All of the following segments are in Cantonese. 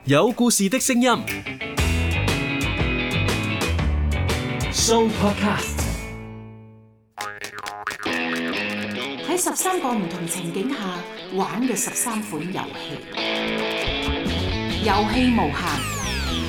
有故事的聲音 Show Podcast。 喺13個唔同情景下玩嘅13款遊戲，遊戲無限。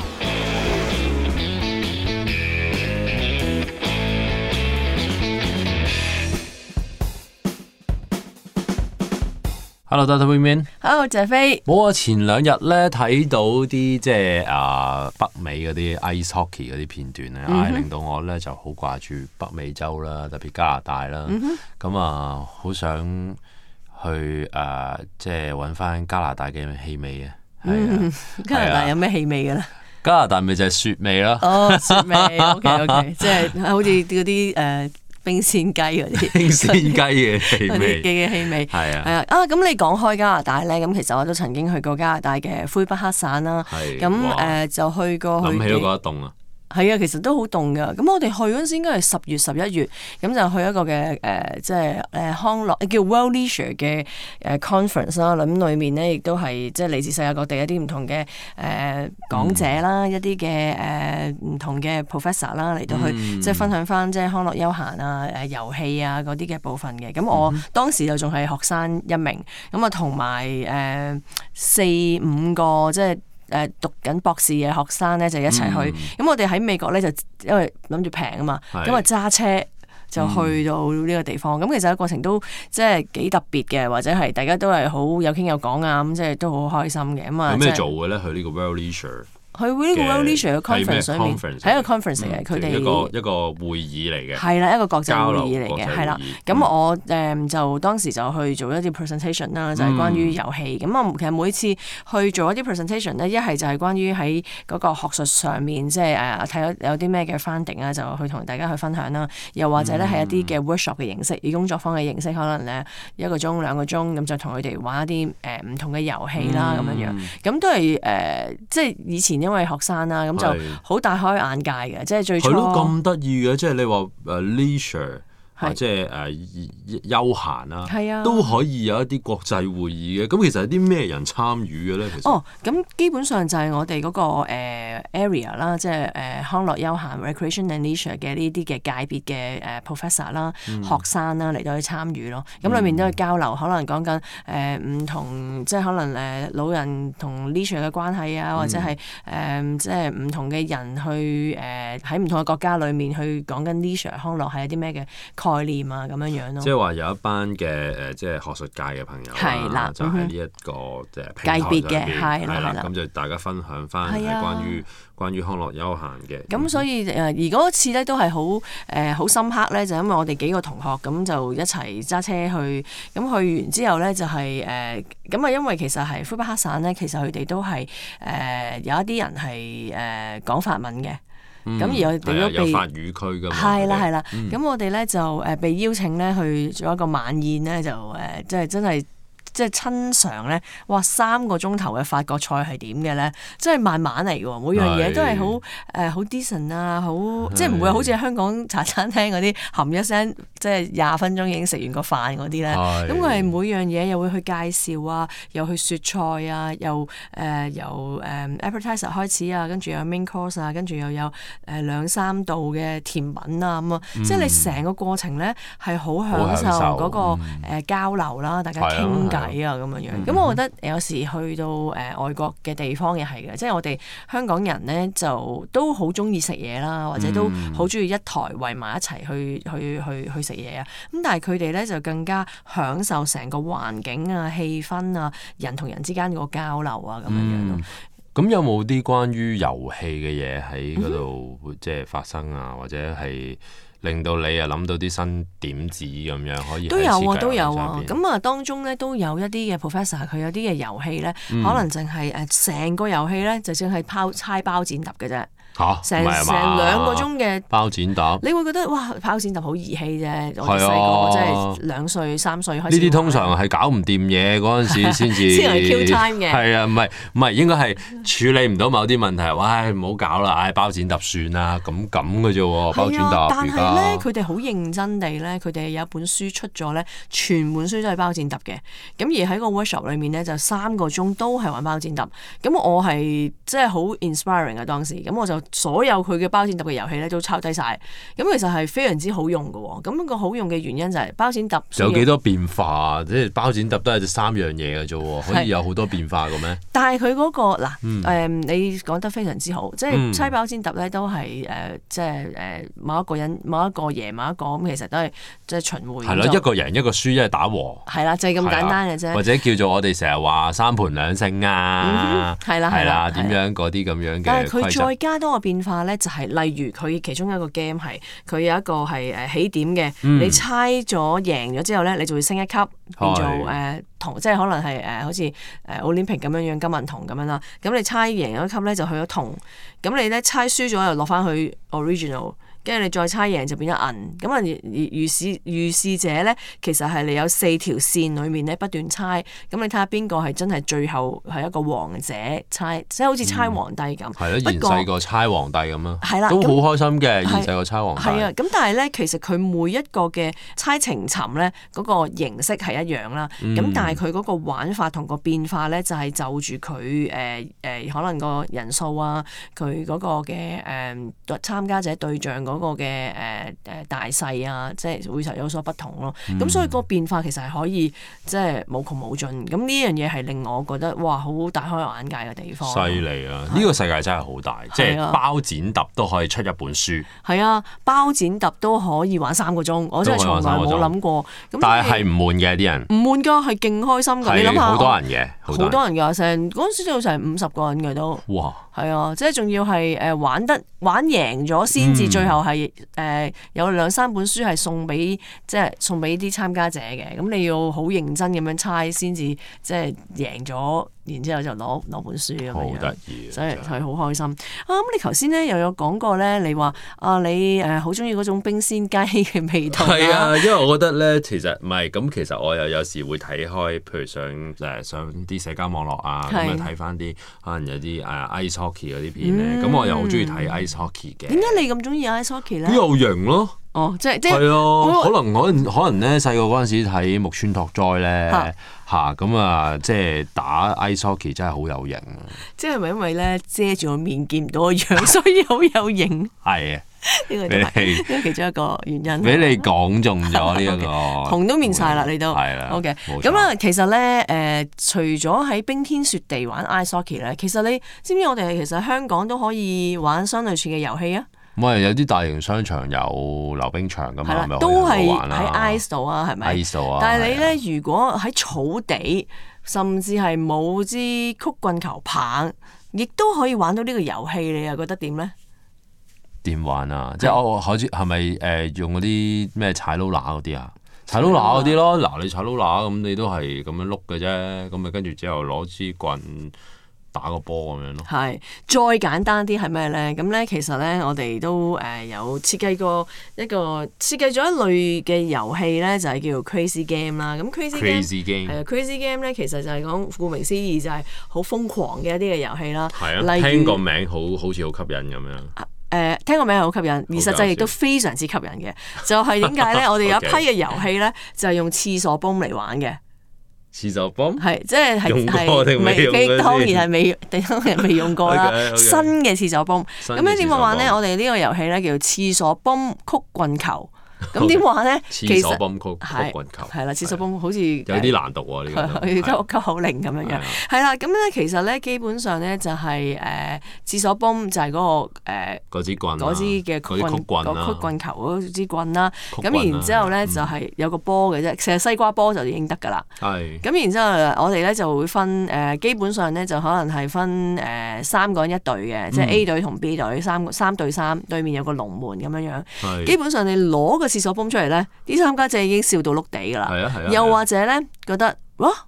Hello， Dr. Wingman。Hello， 謝飛。 冇啊！前兩日咧睇到啲即係北美嗰啲 ice hockey 嗰啲片段咧，令到我咧就好掛住北美洲啦，特別加拿大啦。咁好想去即係揾翻加拿大嘅氣味啊！ 加拿大有咩氣味嘅咧？ 加拿大咪就係雪味咯。 哦，雪味。OK， 即係好似嗰啲冰鮮雞嗰啲， 冰鮮雞嘅氣味， 嘅氣味係啊， 係啊。咁你講開加拿大咧，咁其實我都曾經去過加拿大嘅魁北克省啦。咁就去過去。諗起都覺得凍啊！係啊，其實都好凍噶。咁我哋去嗰陣時應該係10月11月，咁就去一個嘅即係康樂叫 World Leisure 嘅conference 啦。咁裡面咧亦都係即係嚟自世界各地一啲唔同嘅講者啦，一啲嘅唔同嘅 professor 啦嚟到去即係分享翻即係康樂休閒啊、遊戲啊嗰啲嘅部分嘅。咁我當時就仲係學生一名，咁啊同埋4-5個即係讀緊博士嘅學生咧就一齊去，咁我哋喺美國咧就因為諗住平啊嘛，咁啊揸車就去到呢個地方，咁其實個過程都即係幾特別嘅，或者係大家都係好有傾有講啊，咁即係都好開心嘅。咁啊有咩做嘅咧？去呢個 World Leisure。 去呢個 World Leisure 嘅 conference 上面，係一個 conference 嚟嘅，佢哋一個會議嚟嘅， 係啦，一個國際會議嚟嘅，係啦。咁我就當時就去做一啲 presentation 啦，就係關於遊戲。咁我其實每次去做一啲 presentation 咧，一係就係關於喺嗰個學術上面，即係睇到有啲咩嘅 finding 啊，就去同大家去分享啦。又或者咧係一啲嘅 workshop 嘅形式，以工作坊嘅形式，可能咧1個鐘2個鐘咁就同佢哋玩一啲唔同嘅遊戲啦，咁樣樣。咁都係即係以前因為學生啦，咁就好大開眼界嘅，即係最初係咯咁得意嘅，即係你話leisure。即係休閒啦，都可以有一啲國際會議嘅。咁其實係啲咩人參與嘅咧？其實咁基本上就係我哋嗰個area 啦，即係康樂休閒 recreation and leisure 嘅呢啲嘅界別嘅professor 啦、學生啦嚟到去參與咯。咁裏面都係交流，可能講緊唔同，即係可能老人同 leisure 嘅關係啊，或者係即係唔同嘅人去喺唔同嘅國家裏面去講緊 leisure 康樂係一啲咩嘅概念啊，咁樣樣咯。 即係話有一班嘅即係學術界嘅朋友啦，就喺呢一個即係界別嘅，係啦， 咁就大家分享翻係關於康樂休閒嘅。 咁所以而嗰次咧都係好深刻咧，就因為我哋幾個同學咁就一齊揸車去，咁去完之後咧就係咁啊，因為其實係魁北克省咧，其實佢哋都係有一啲人係講法文嘅。咁而我哋都被法語區㗎嘛， 係啦，咁我哋咧就被邀請咧去做一個晚宴咧，就即係真係即係親嘗咧，哇3個鐘頭嘅法國菜係點嘅咧？即係慢慢嚟嘅喎，每樣嘢都係好 decent 啊，好即係唔會好似香港茶餐廳嗰啲含一聲，即係20分鐘已經食完個飯嗰啲咧。咁佢係每樣嘢又會去介紹啊，又去説菜啊，又由appetizer 開始啊，跟住有 main course 啊，跟住又有2-3道嘅甜品啊咁啊，即係你成個過程咧係好享受嗰個交流啦，大家傾偈。咁樣，咁我覺得有時去到外國嘅地方又係嘅，即係我哋香港人咧就都好中意食嘢啦，或者都好中意一台圍埋一齊去食嘢啊。咁但係佢哋咧就更加享受成個環境啊、氣氛啊、人同人之間嗰個交流啊咁樣咯。 咁有冇啲關於遊戲嘅嘢喺嗰度即係發生啊，或者係令到你啊諗到啲新點子咁樣可以都有啊。咁啊當中咧都有一啲嘅 professor， 佢有啲嘅遊戲咧，可能淨係成個遊戲咧就淨係猜包剪揼嘅啫。 嚇， 成唔係啊嘛 2個鐘嘅包剪揼。 你會覺得哇，包剪揼好兒戲啫！我哋係啊細個即係2歲3歲開始。 呢啲通常係搞唔掂嘢嗰陣時先至先係 kill time 嘅。 係啊，唔係應該係處理唔到某啲問題，喂唔好搞啦，唉包剪揼算啦，咁嘅啫喎，包剪揼。 但係咧，佢哋好認真地咧，佢哋有一本書出咗咧，全本書都係包剪揼嘅。咁而喺個 workshop 裏面咧，就3個鐘都係玩包剪揼。咁我係即係好 inspiring 啊當時。咁我就所有佢嘅包剪揼嘅遊戲咧都抄低晒。咁其實係非常之好用嘅喎。咁個好用嘅原因就係包剪揼。 有幾多變化？即係包剪揼都係3樣嘢嘅啫喎，可以有好多變化嘅咩？ 但係佢嗰個嗱你講得非常之好，即係猜包剪揼咧都係即係某一個人某一個贏某一個咁，其實都係即係循環。 係咯，一個贏一個輸，一係打和。 係啦，就係咁簡單嘅啫。 或者叫做我哋成日話3盤2勝啊， 係啦， 點樣嗰啲咁樣嘅規則。 但係佢再加多個變化咧，就係例如佢其中一個 game 係佢有一個係起點嘅，你猜咗贏咗之後咧，你就會升一級，變做銅，即係可能係好似Olympic 咁樣樣金銀銅咁樣啦。咁你猜贏咗一級咧，就去咗銅。咁你咧猜輸咗又落翻去 original。跟住你再猜贏就變咗銀，咁啊預示者咧，其實係你有4條線裏面咧不斷猜，咁你睇下邊個係真係最後係一個王者猜，即係好似猜皇帝咁。 係咯，現世個猜皇帝咁咯。 係啦， 都好開心嘅，現世個猜皇帝。 係啊，咁但係咧，其實佢每一個嘅猜情尋咧，嗰個形式係一樣啦。咁但係佢嗰個玩法同個變化咧，就係就住佢可能個人數啊，佢嗰個嘅參加者對象嗰個嘅大細啊，即係會有所不同咯。咁所以個變化其實係可以即係無窮無盡。咁呢樣嘢係令我覺得哇，好大開眼界嘅地方。 犀利啊！呢個世界真係好大，即係包剪揼都可以出一本書。 係啊，包剪揼都可以玩3個鐘，我真係從來冇諗過。 但係唔悶嘅啲人。 唔悶㗎，係勁開心㗎。你諗下， 好多人嘅， 好多人㗎，成嗰陣時都有成50個人嘅都。 哇！ 係啊，即係仲要係玩贏咗先至，最後係有2-3本書係送俾啲參加者嘅。咁你要好認真咁樣猜先至，即係贏咗，然之後就攞本書咁樣。 好得意， 所以係好開心啊！咁你頭先咧又有講過咧，你話你好中意嗰種冰鮮雞嘅味道。 係啊，因為我覺得咧，其實唔係咁，其實我又有時會睇開，譬如上啲社交網絡啊，咁樣睇翻啲可能有啲ice hockey 嗰啲片咧，咁我又好中意睇 ice hockey 嘅。點解你咁中意 ice hockey 咧？ 有型咯！ 哦，即係係啊，可能咧細個嗰陣時睇木村拓哉咧咁啊，即係打 ice hockey 真係好有型啊！ 即係咪因為咧遮住個面見唔到個樣，所以好有型？ 係啊， 呢個係其中一個原因。 俾你講中咗呢一個紅都面晒啦，你都係啦。 OK，咁啊，其實咧除咗喺冰天雪地玩 ice hockey 咧，其實你知唔知我哋其實香港都可以玩相類似嘅遊戲啊？ 唔係有啲大型商場有溜冰場㗎嘛，咪都係喺 ice 度啊，係咪 ？ice 度啊！ 但係你咧，如果喺草地，甚至係冇支曲棍球棒，亦都可以玩到呢個遊戲，你又覺得點咧？ 點玩啊？即係我好似係咪用嗰啲咩踩 roller 嗰啲啊？踩 roller 嗰啲咯，嗱你踩 roller 咁你都係咁樣碌嘅啫，咁咪跟住之後攞支棍打個波咁樣咯。係， 再簡單啲係咩咧？咁咧其實咧，我哋都有設計咗一類嘅遊戲咧，就係叫做 Crazy Game 啦。咁 Crazy Game 係啊，Crazy Game 咧其實就係講顧名思義就係好瘋狂嘅一啲嘅遊戲啦。 係啊，聽個名好似好吸引咁樣。 聽個名係好吸引，而實際亦都非常之吸引嘅。就係點解咧？我哋有一批嘅遊戲咧，就係用廁所泵嚟玩嘅。 廁所泵係即係用過定未用過？ 當然係未用過啦。新嘅廁所泵咁樣點玩咧？我哋呢個遊戲咧叫做廁所泵曲棍球。咁點玩咧？ 廁所泵曲棍球係啦，廁所泵好似有啲難讀喎呢個。 溝口令咁樣樣係啦。咁咧其實咧基本上咧就係廁所泵就係嗰個支棍嗰支嘅曲棍球嗰支棍啦。 咁然之後咧就係有個波嘅啫，其實西瓜波就已經得㗎啦。 係。 咁然之後我哋咧就會分基本上咧就可能係分3個人一隊嘅，即係 A 隊同 B 隊3對3，對面有個龍門咁樣樣。基本上你攞個廁所泵出嚟咧，啲參加者已經笑到碌地㗎啦。又或者咧覺得哇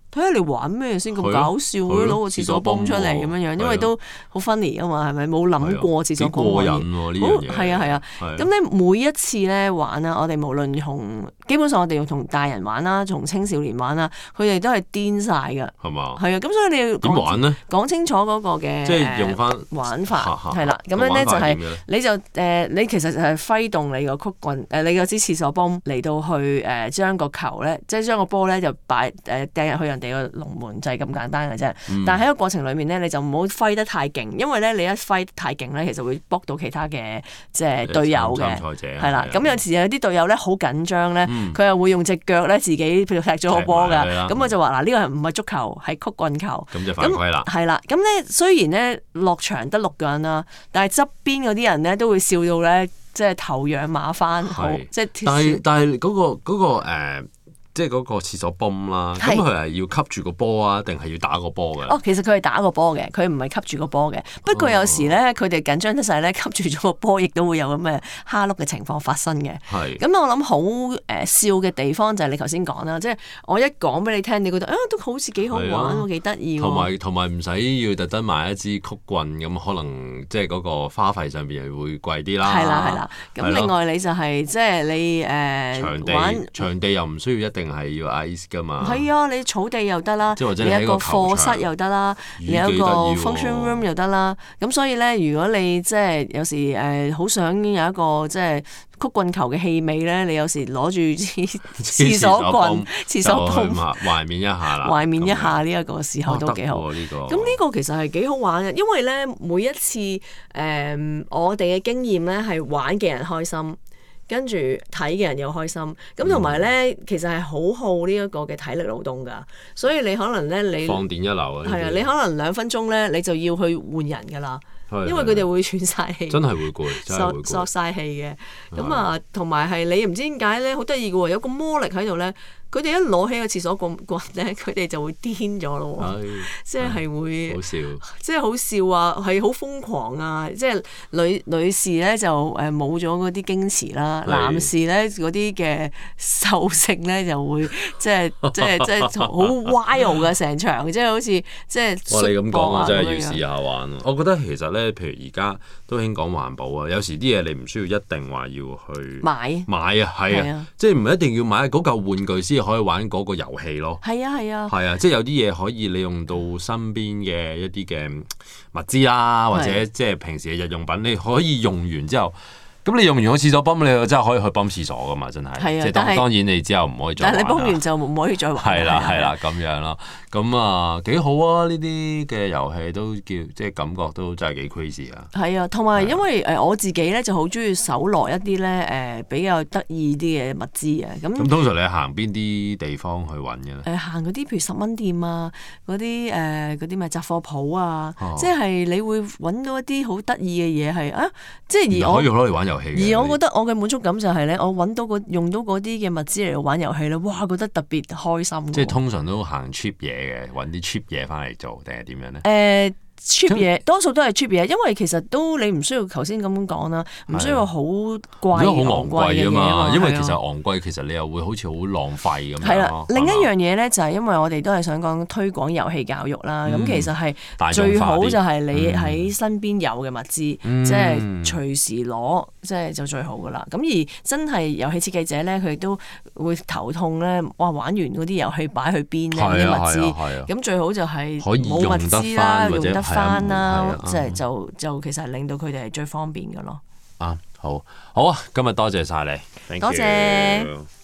睇下你玩咩先咁搞笑嘅，攞個廁所泵出嚟咁樣樣，因為都好 funny 啊嘛，係咪？冇諗過廁所泵可以。 過癮喎呢樣嘢。 係啊。咁咧每一次咧玩啊，我哋無論基本上我哋要同大人玩啦，同青少年玩啦，佢哋都係癲晒㗎。係嘛？ 係啊，咁所以你要點玩咧？ 講清楚嗰個嘅即係用翻玩法係啦。咁樣咧就係你就你其實就係揮動你個曲棍你個支廁所泵嚟到去將個球咧，即係將個波咧就擺掟入去人哋個龍門，就係咁簡單嘅啫。但係喺個過程裡面咧，你就唔好揮得太勁，因為咧你一揮得太勁咧，其實會卜到其他嘅即係隊友嘅。係啦，咁有時有啲隊友咧好緊張咧，佢又會用隻腳咧自己譬如踢咗個波㗎。咁我就話嗱，呢個唔係足球，係曲棍球。咁就犯規啦。係啦，咁咧雖然咧落場得6個人啦，但係側邊嗰啲人咧都會笑到咧，即係頭仰馬翻，好即係。但係嗰個即係嗰個廁所泵啦，咁佢係要吸住個波啊，定係要打個波嘅？其實佢係打個波嘅，佢唔係吸住個波嘅。不過有時咧，佢哋緊張得滯咧，吸住咗個波，亦都會有咁嘅蝦碌嘅情況發生嘅。咁我諗好笑嘅地方就係你頭先講啦，即係我一講俾你聽，你覺得都好似幾好玩喎，幾得意喎。同埋唔使要特登買一支曲棍咁，可能即係嗰個花費上邊會貴啲啦。係啦。咁另外你就係即係你場地又唔需要一定係要 ice 噶嘛？係啊，你草地又得啦，你一個課室又得啦，你一個 function room 又得啦。咁所以咧，如果你即係有時好想有一個即係曲棍球嘅氣味咧，你有時攞住廁所棍、廁所泵，懷緬一下啦。懷緬一下呢一個時候都幾好。咁呢個其實係幾好玩嘅，因為咧每一次我哋嘅經驗咧係玩嘅人開心。跟住睇嘅人又開心，咁同埋咧，其實係好耗呢一個嘅體力勞動㗎，所以你可能咧你放電一流啊，係啊，你可能2分鐘咧你就要去換人㗎啦，因為佢哋會喘晒氣，真係會攰，索晒氣嘅，咁啊，同埋係你唔知點解咧，好得意嘅喎，有個魔力喺度咧。佢哋一攞起個廁所棍咧，佢哋就會癲咗咯喎，即係會好笑，即係好笑啊，係好瘋狂啊！即係女士咧就冇咗嗰啲矜持啦，男士咧嗰啲嘅獸性咧就會即係好 wild 嘅成場，即係好似即係。你咁講我真係要試下玩。我覺得其實咧，譬如而家都興講環保啊，有時啲嘢你唔需要一定話要去買啊，係啊，即係唔一定要買嗰嚿玩具先可以玩嗰個遊戲咯。係啊，即係有啲嘢可以利用到身邊嘅一啲嘅物資啦，或者即係平時嘅日用品，你可以用完之後。咁你用完個廁所泵，你真係可以去泵廁所噶嘛？真係，即係當然你之後唔可以再玩啦。但係你泵完就唔可以再玩。係啦，咁樣咯。咁啊幾好啊！呢啲嘅遊戲都叫即係感覺都真係幾 crazy 啊。係啊，同埋因為我自己咧就好中意搜羅一啲咧比較得意啲嘅物資啊。咁通常你行邊啲地方去揾嘅咧？行嗰啲譬如10蚊店啊，嗰啲咪雜貨鋪啊，即係你會揾到一啲好得意嘅嘢係啊，即係而我可以攞嚟玩遊戲。而我覺得我嘅滿足感就係咧，我揾到用到嗰啲嘅物資嚟玩遊戲咧，哇！覺得特別開心。即係通常都行 cheap 嘢嘅，揾啲 cheap 嘢翻嚟做，定係點樣咧？cheap 嘢多數都係 cheap 嘢，因為其實都你唔需要頭先咁講啦，唔需要好貴、好昂貴嘅嘢嘛。因為其實昂貴，其實你又會好似好浪費咁樣。係啦，另一樣嘢咧就係因為我哋都係想講推廣遊戲教育啦。咁其實係最好就係你喺身邊有嘅物資，即係隨時攞，即係就最好噶啦。咁而真係遊戲設計者咧，佢都會頭痛咧，哇！玩完嗰啲遊戲擺去邊咧啲物資，咁最好就係冇物資啦，用得翻啦，即係就其實令到佢哋係最方便嘅咯。好啊，今日多謝晒你，多謝。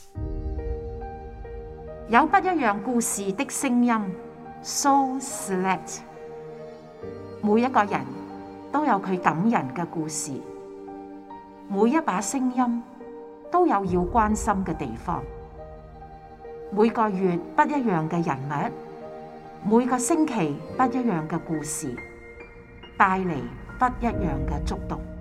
有不一樣故事的聲音 ，So Select。每一個人都有佢感人嘅故事，每一把聲音都有要關心嘅地方。每個月不一樣嘅人物，每個星期不一樣嘅故事，帶嚟不一樣嘅觸動。